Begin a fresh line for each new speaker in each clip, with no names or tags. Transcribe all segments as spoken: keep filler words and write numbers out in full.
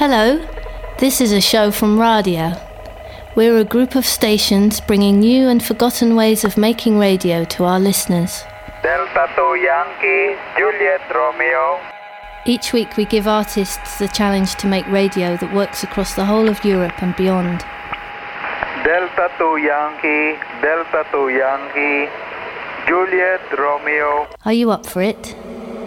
Hello, this is a show from Radio. We're a group of stations bringing new and forgotten ways of making radio to our listeners.
Delta two Yankee, Juliet Romeo.
Each week we give artists the challenge to make radio that works across the whole of Europe and beyond.
Delta two Yankee, Delta two Yankee, Juliet Romeo.
Are you up for it?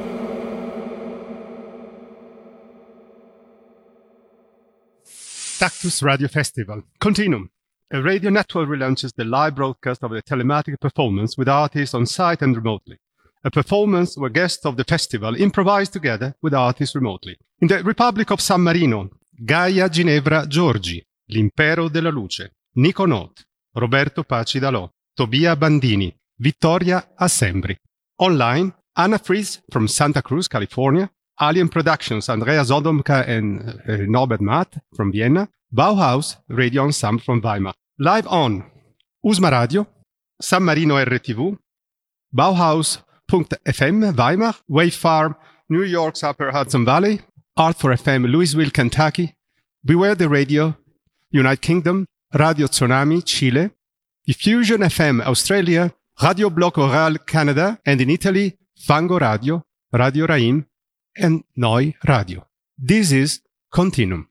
Tactus Radio Festival. Continuum. A radio network relaunches the live broadcast of a telematic performance with artists on site and remotely. A performance where guests of the festival improvise together with artists remotely. In the Republic of San Marino, Gaia Ginevra Giorgi, L'Impero della Luce, Nico Note, Roberto Paci Dalò, Tobia Bandini, Vittoria Assembri. Online, Anna Fries from Santa Cruz, California, Alien Productions, Andrea Zodomka and uh, Norbert Matt from Vienna, Bauhaus Radio Ensemble from Weimar. Live on Usma Radio, San Marino R T V, Bauhaus dot F M Weimar, Wave Farm, New York's Upper Hudson Valley, Art for F M Louisville, Kentucky, Beware the Radio, United Kingdom, Radio Tsunami, Chile, Diffusion F M Australia, Radio Bloc Oral Canada, and in Italy, Fango Radio, Radio Raim, and Noi Radio. This is Continuum.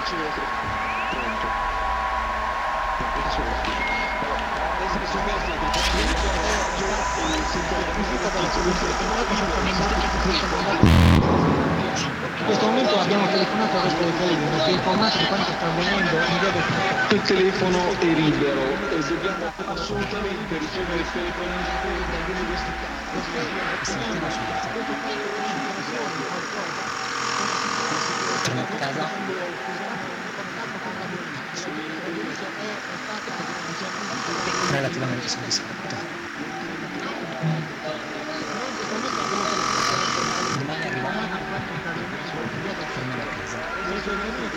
In questo momento abbiamo telefonato al resto del telefono per informarci di quanto sta avvenendo in via del...
Il telefono è libero e dobbiamo assolutamente ricevere il telefono in questi
relativamente soddisfatto. Domani arrivano tornare a casa.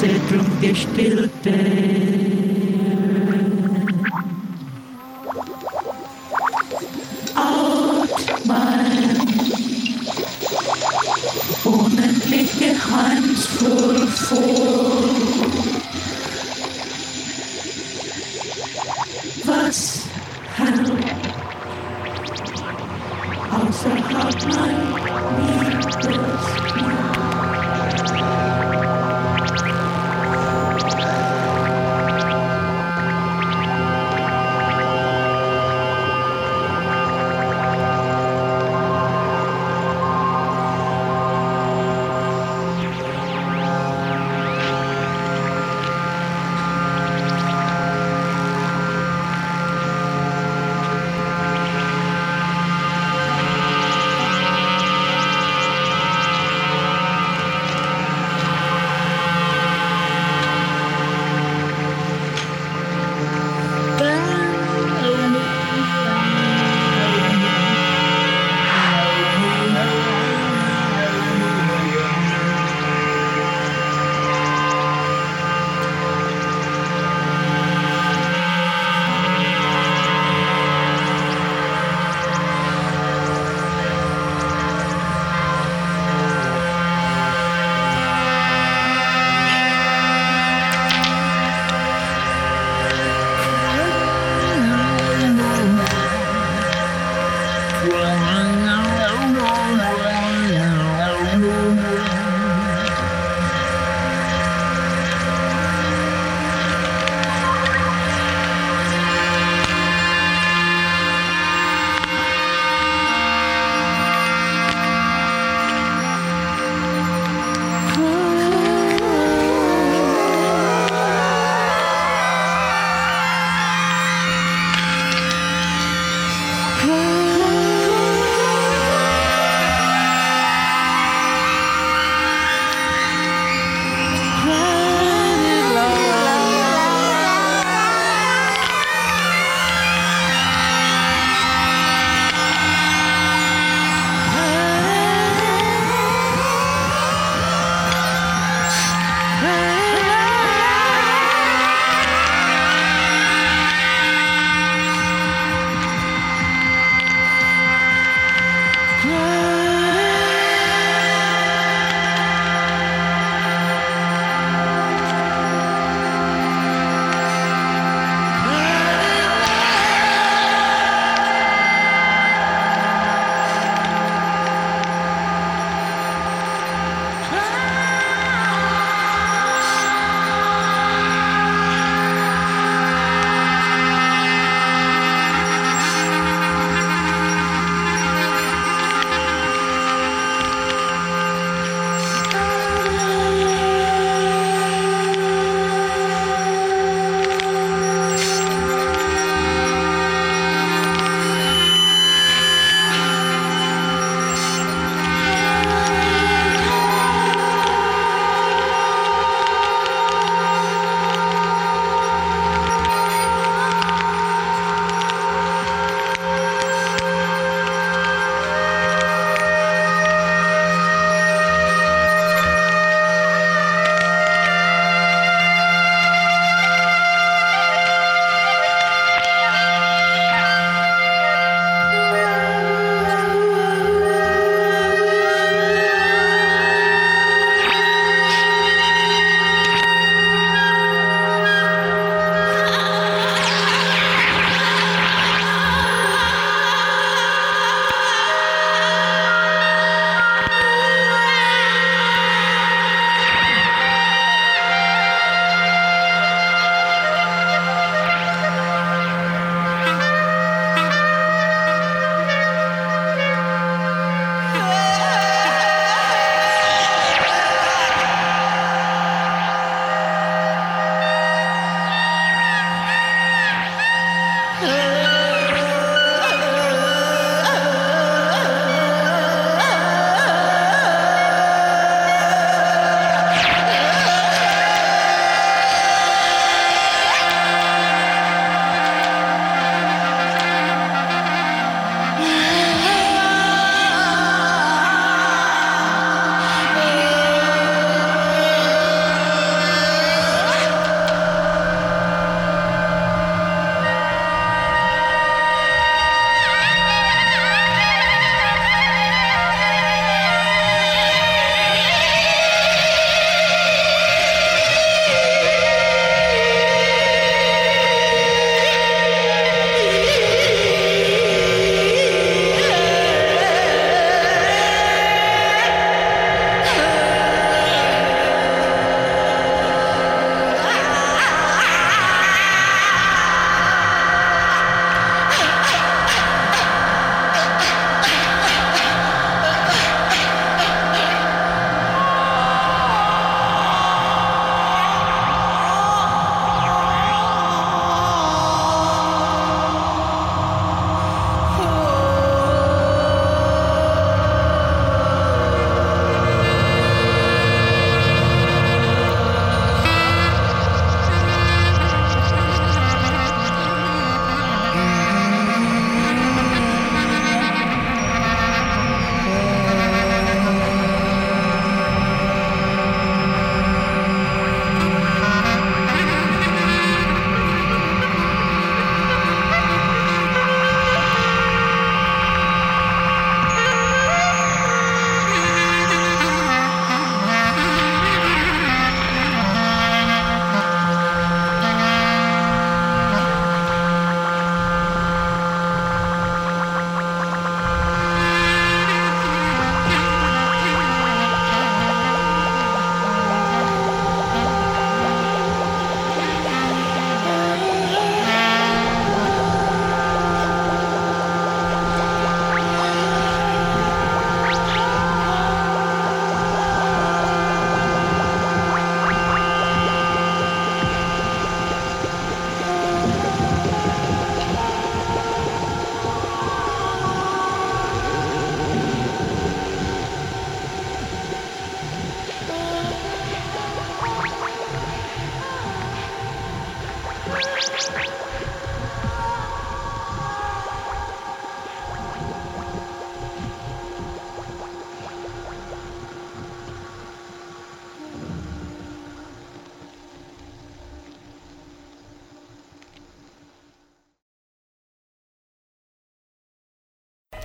Zentrum gestillte. Atmen, unendlich geheimnisvoll vor. Was hält außerhalb mein Liebesmeer?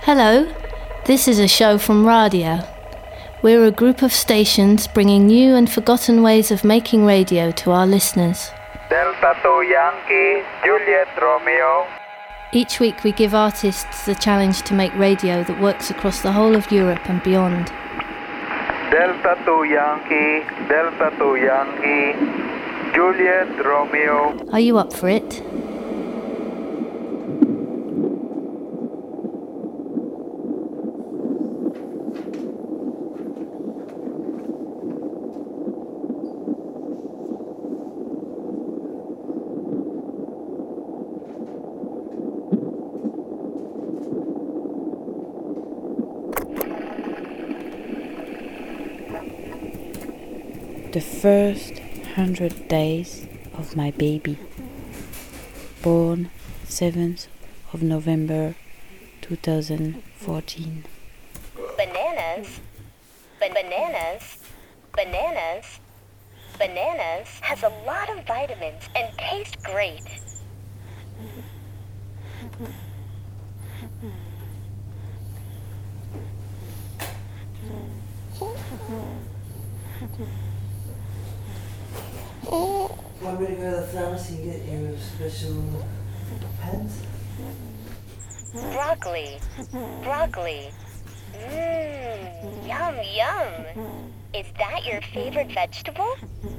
Hello, this is a show from Radia. We're a group of stations bringing new and forgotten ways of making radio to our listeners.
Delta two Yankee, Juliet Romeo.
Each week we give artists the challenge to make radio that works across the whole of Europe and beyond.
Delta two Yankee, Delta two Yankee, Juliet Romeo.
Are you up for it?
The first hundred days of my baby, born seventh of November two thousand fourteen.
Bananas, Ban- bananas, bananas, bananas has a lot of vitamins and taste great.
Want me to go to the pharmacy and get you special pens?
Broccoli, broccoli. Mmm, yum, yum. Is that your favorite vegetable?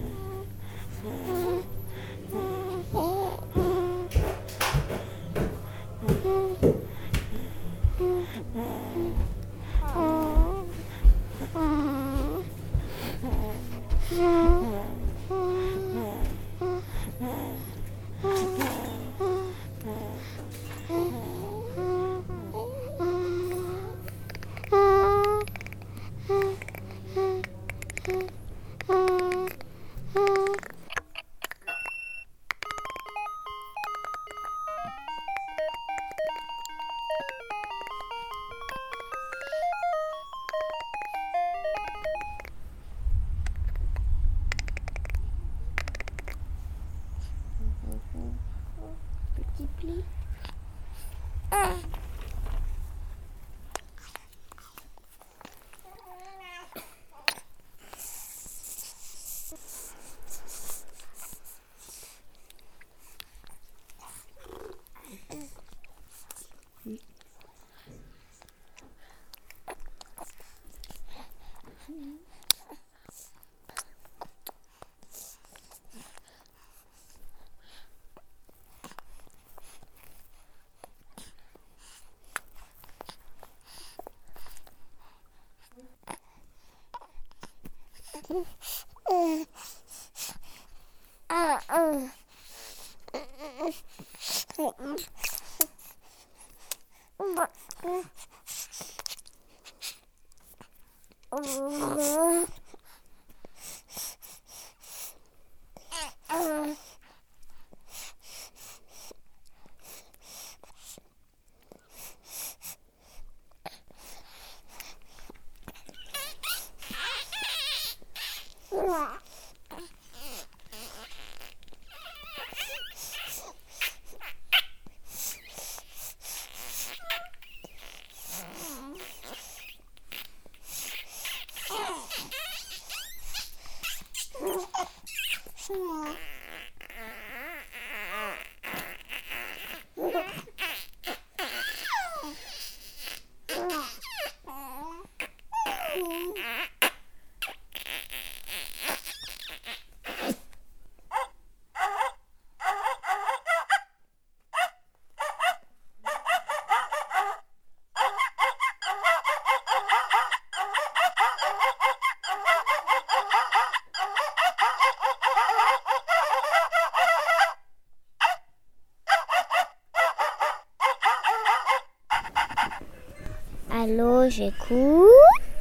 Allô, j'écoute.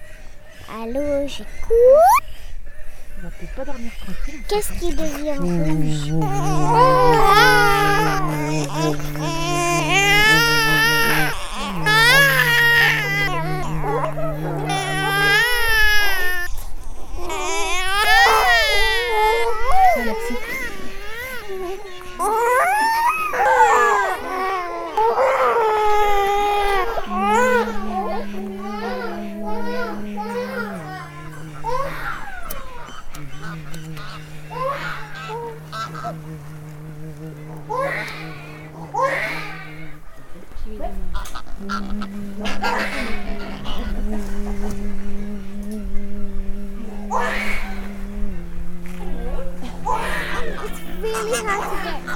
Allô, j'écoute.
On va peut-être pas dormir tranquille.
Qu'est-ce qui devient rouge? It's really hard to get.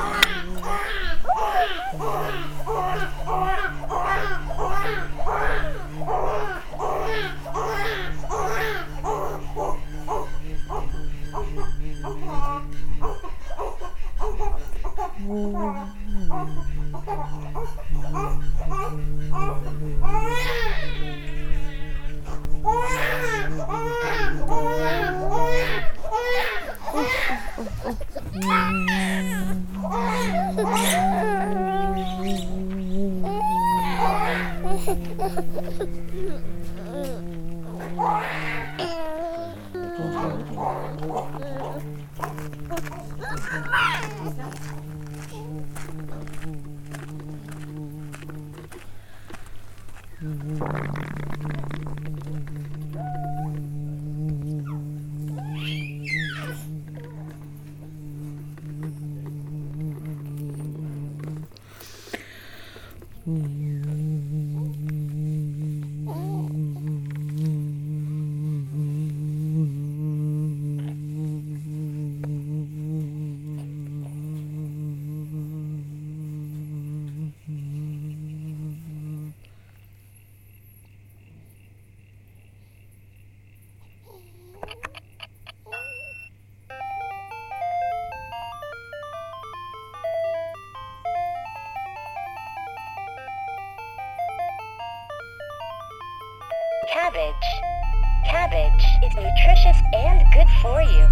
Cabbage. Cabbage is nutritious and good for you.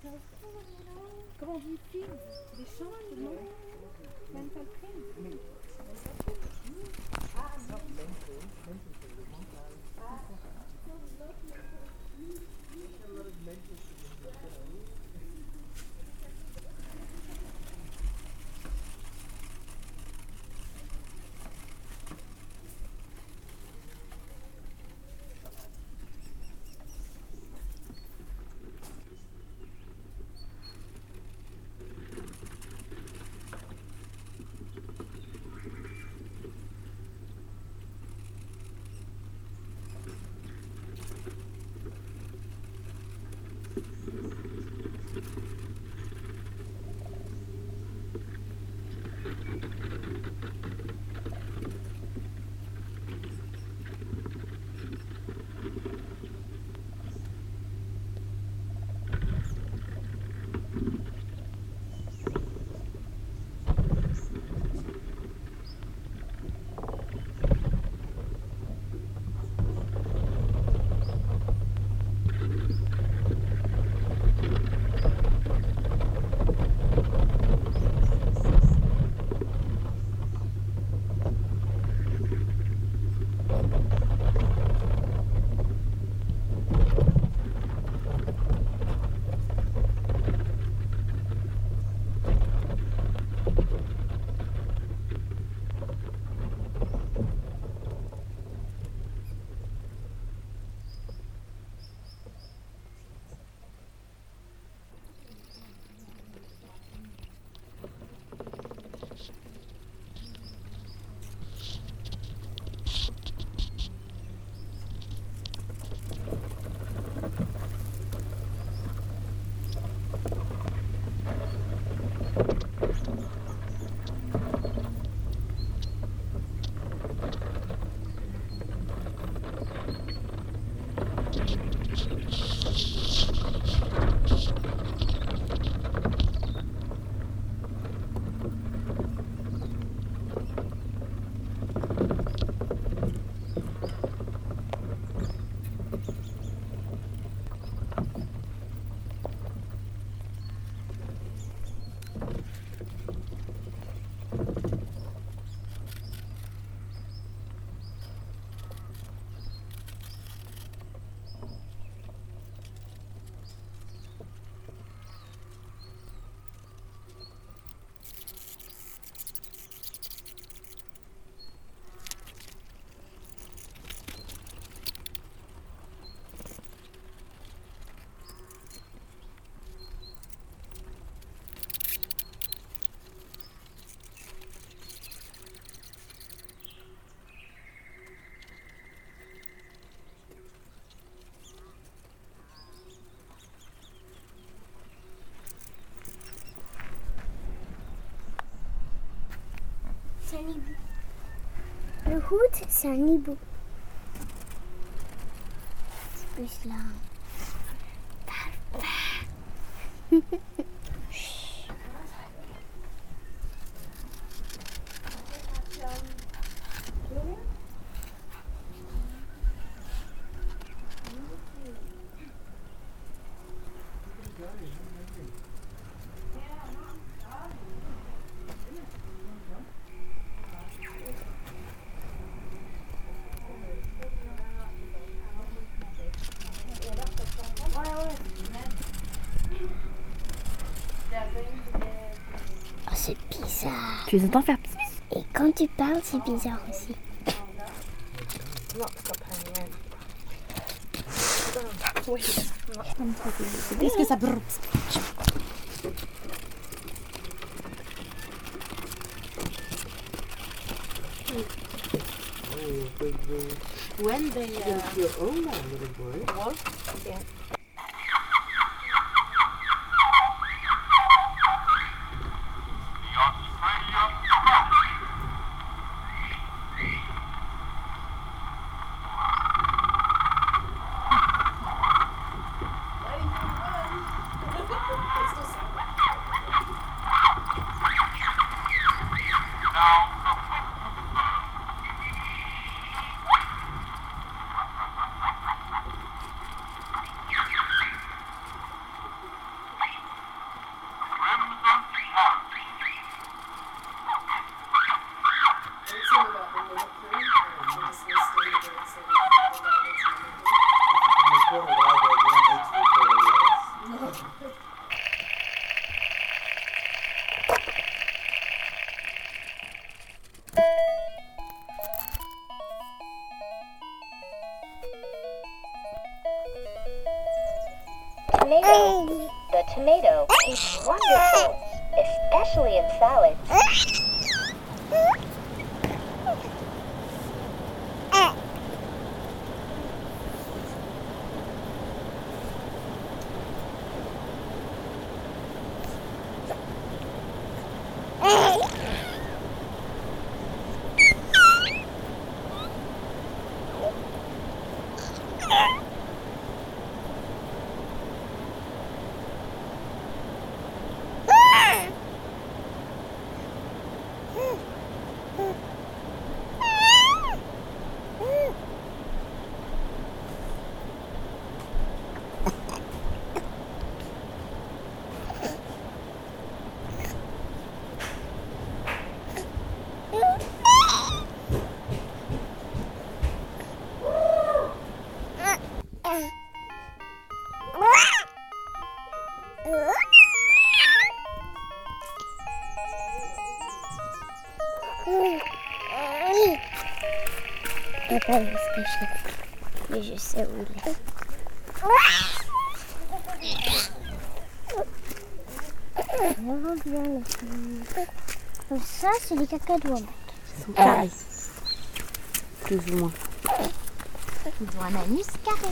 Comment on dit film? Des chants, non? Même pas le crime. Ah non,
C'est un hibou. Le hood, c'est un hibou. C'est plus là. Oh, c'est bizarre.
Tu les entends faire pis.
Et quand tu parles, c'est bizarre aussi.
Est-ce que ça brûle?
When they uh, your own little boy. Wolf? Yeah.
tomato tastes wonderful, especially in salad.
Papa, où est-ce que je l'ai? Mais je sais où il est. Reviens là. Ça, c'est des cacadois.
Ils sont carrés. Plus ou moins.
Ils ont un anus carré.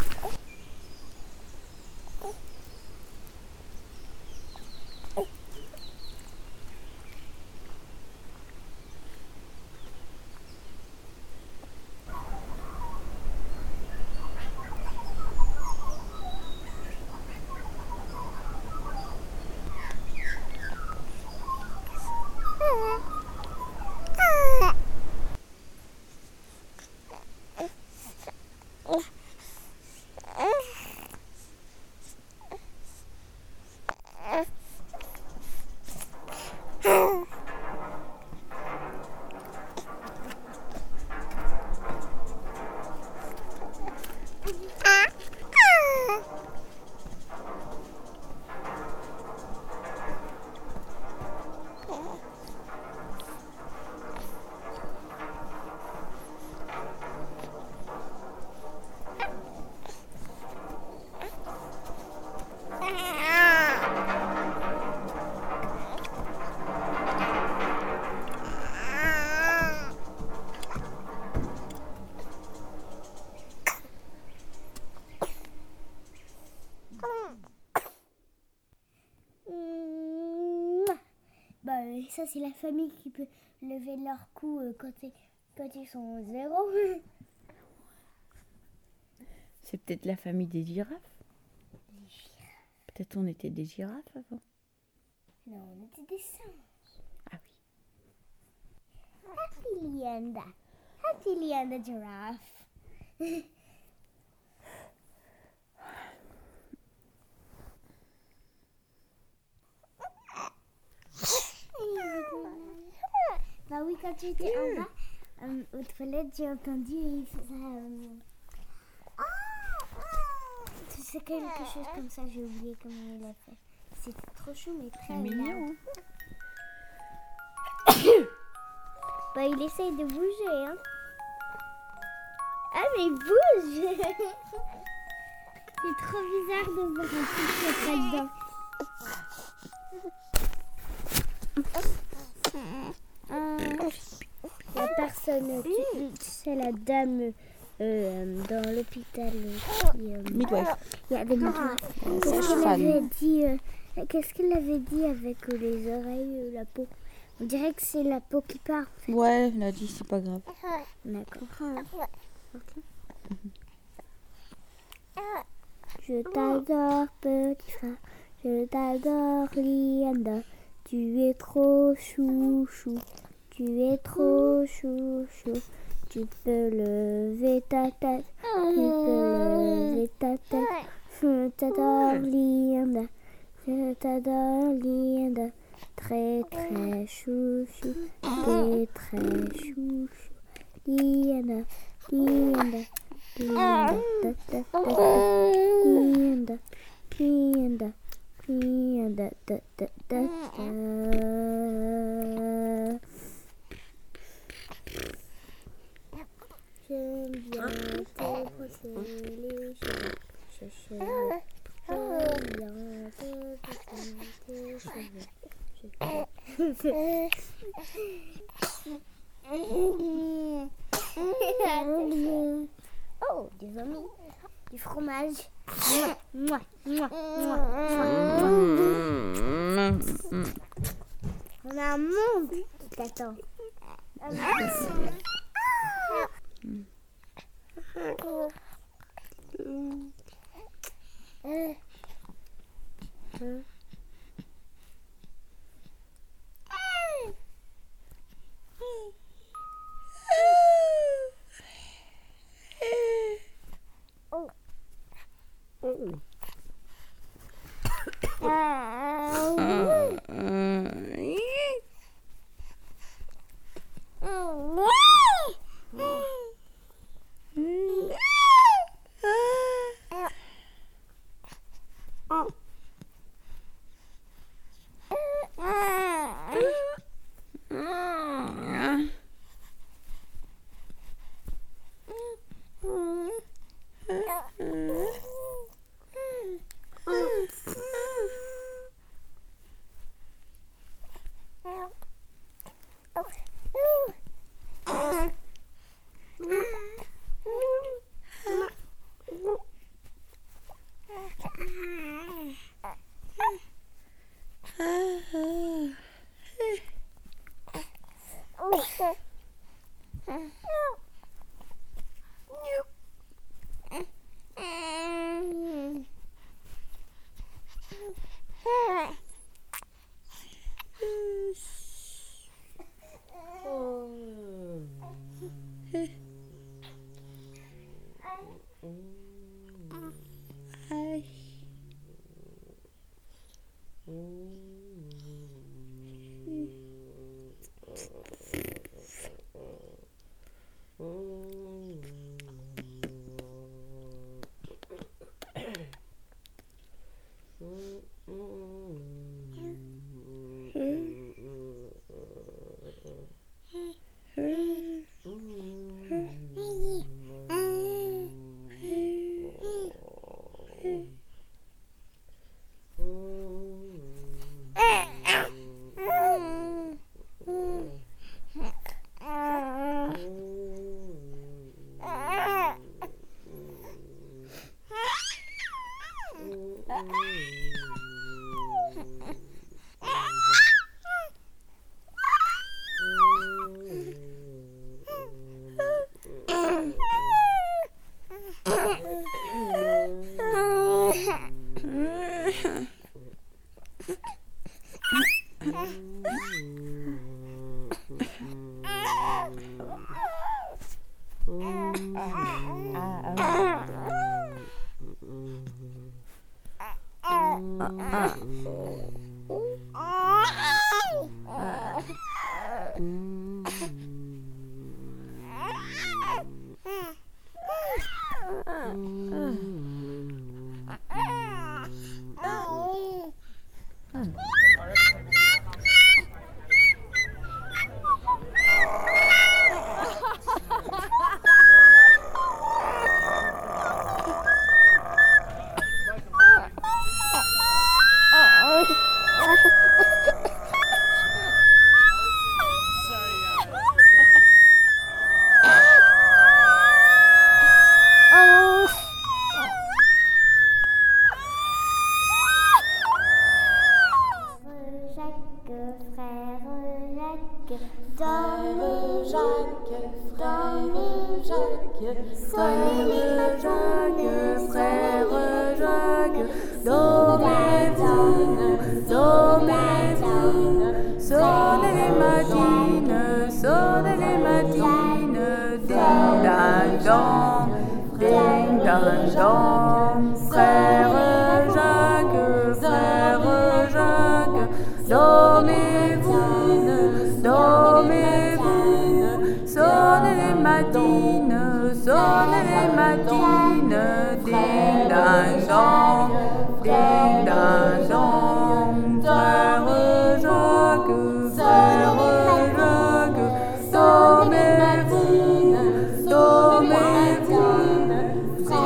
Ça, c'est la famille qui peut lever leur cou euh, quand, quand ils sont au zéro.
C'est peut-être la famille des girafes.
Les girafes.
Peut-être on était des girafes avant.
Non, on était des singes.
Ah
oui. Happy Lianda. Happy Lianda giraffe. Bah oui, quand tu étais en bas, euh, aux toilettes, j'ai entendu et il faisait... Euh... Oh, tu sais, quelque chose comme ça, j'ai oublié comment il a fait. C'était trop chou, mais très
mignon.
Bah il essaye de bouger, hein. Ah mais il bouge. C'est trop bizarre de voir un petit qui là-dedans. Il n'y a personne, tu, tu sais la dame euh, dans l'hôpital qui... Euh,
midwife.
Il y a des midwives. Qu'est-ce qu'elle avait dit euh, Qu'est-ce qu'elle avait dit avec euh, les oreilles, euh, la peau? On dirait que c'est la peau qui part. En fait.
Ouais, elle a dit c'est pas grave.
D'accord. Okay. Je t'adore, petit frère. Je t'adore, Lianda. Tu es trop chouchou. Tu es trop chouchou. Tu peux lever ta tête. Tu peux lever ta tête. Je t'adore, Lianda. Je t'adore, Lianda. Très très chouchou. Très très chouchou. Lianda. Lianda. Lianda. Lianda. Lianda. Lianda. Da da da da. J'aime bien te brosser les cheveux. J'aime bien te Oh, des amis, du fromage. Mouah, mouah, mouah, mouah. On a un monde qui t'attend. Un monde.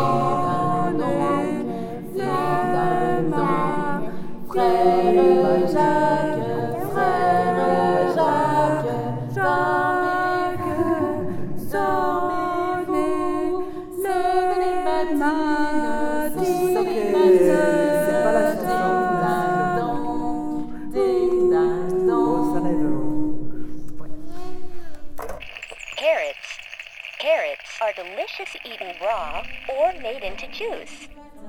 Frère
Are delicious eaten raw or made into juice.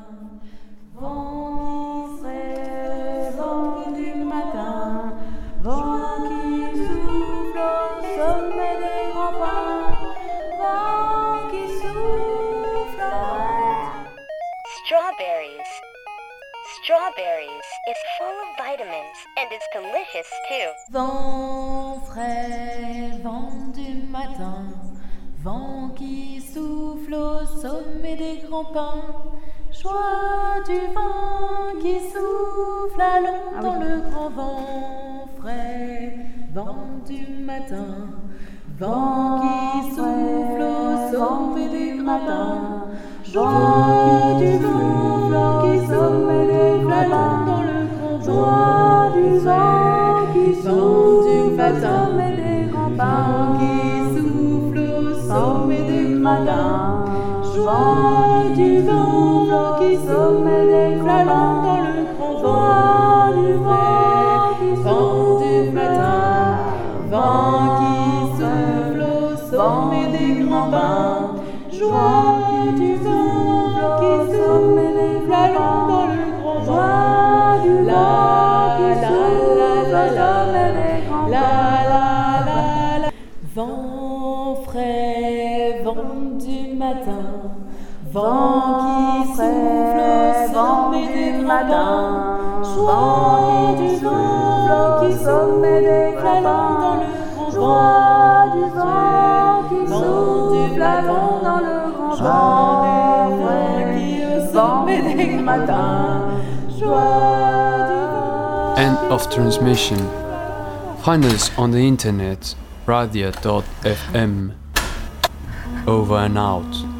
Vent frais, vent du matin, vent qui souffle au sommet des grands pins, vent qui souffle.
Strawberries. Strawberries is full of vitamins and it's delicious too.
Vent frais, vent du matin, vent qui souffle au sommet des grands pins, joie du vent qui souffle, allons dans le grand vent frais, vent du matin, vent qui souffle au sommet des grands pins, joie du vent qui sommet des grands pins, dans le grand vent, joie du vent qui souffle au sommet des grands pins, qui souffle au sommet des grands pins, joie du vent qui sommet des grands pins, dans le grand vent du vent qui vent du matin, vent qui souffle au sommet des grands pins, joie du vent qui sommet des grands pins, dans le grand vent du vent qui souffle au sommet des grands pins, la la la la. Vent frais, vent du matin, vent qui souffle au sommet des grands pins, joie du vent qui sommet des grands pins, dans le grand joie du vent qui souffle dans le grand vent qui au sommet des grands pins, joie du vent.
End of transmission. Find us on the internet, radia dot f m. Over and out.